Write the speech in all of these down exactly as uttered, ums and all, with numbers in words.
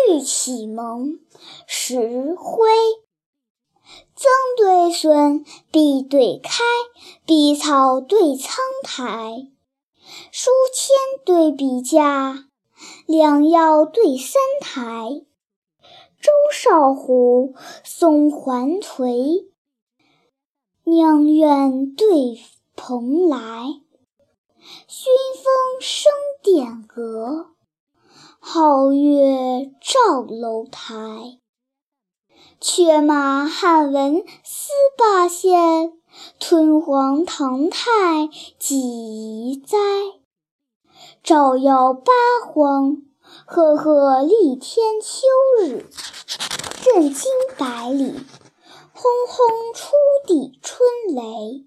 欲启蒙，时辉。曾对孙，匕对开，笔草对苍苔。书签对笔架，良药对三台。周少虎，宋还颓，娘怨对蓬莱。熏风生殿阁，皓月照楼台。却马汉文司八县，屯黄唐太几遗哉。照耀八荒，赫赫立天秋日。震惊百里，轰轰出地春雷。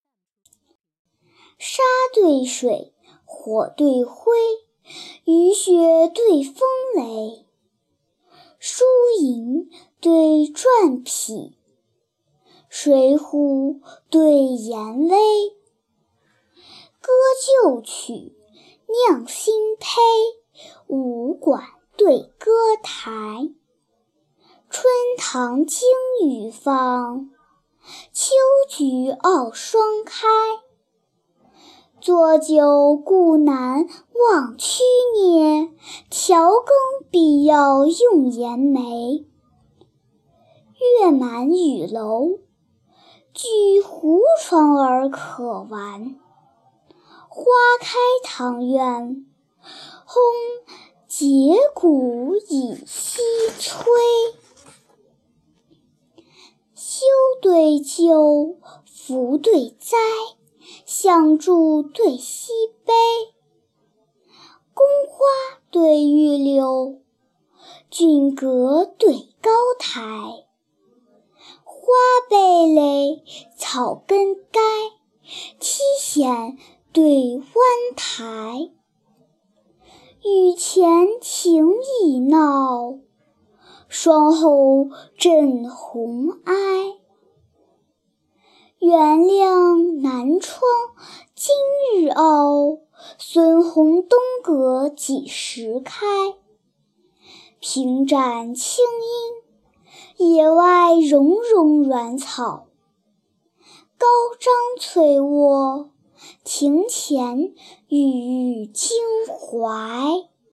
沙对水，火对灰，雨雪对风雷。输赢对篆匹，水浒对严威。歌旧曲，酿新醅，武馆对歌台。春堂惊雨放，秋菊傲霜开。作酒故难忘曲孽，调羹必要用盐梅。月满雨楼，举胡窗而可玩。花开堂院，轰节鼓以息吹。修对旧，福对灾，相助对西悲。宫花对玉柳，峻阁对高台。花蓓蕾，草根该，梯险对湾台。御前情意闹，霜后震红埃。原谅南窗今日傲，孙红东阁几时开。平展青阴，野外茸茸软草。高张翠卧，庭前郁郁荆怀。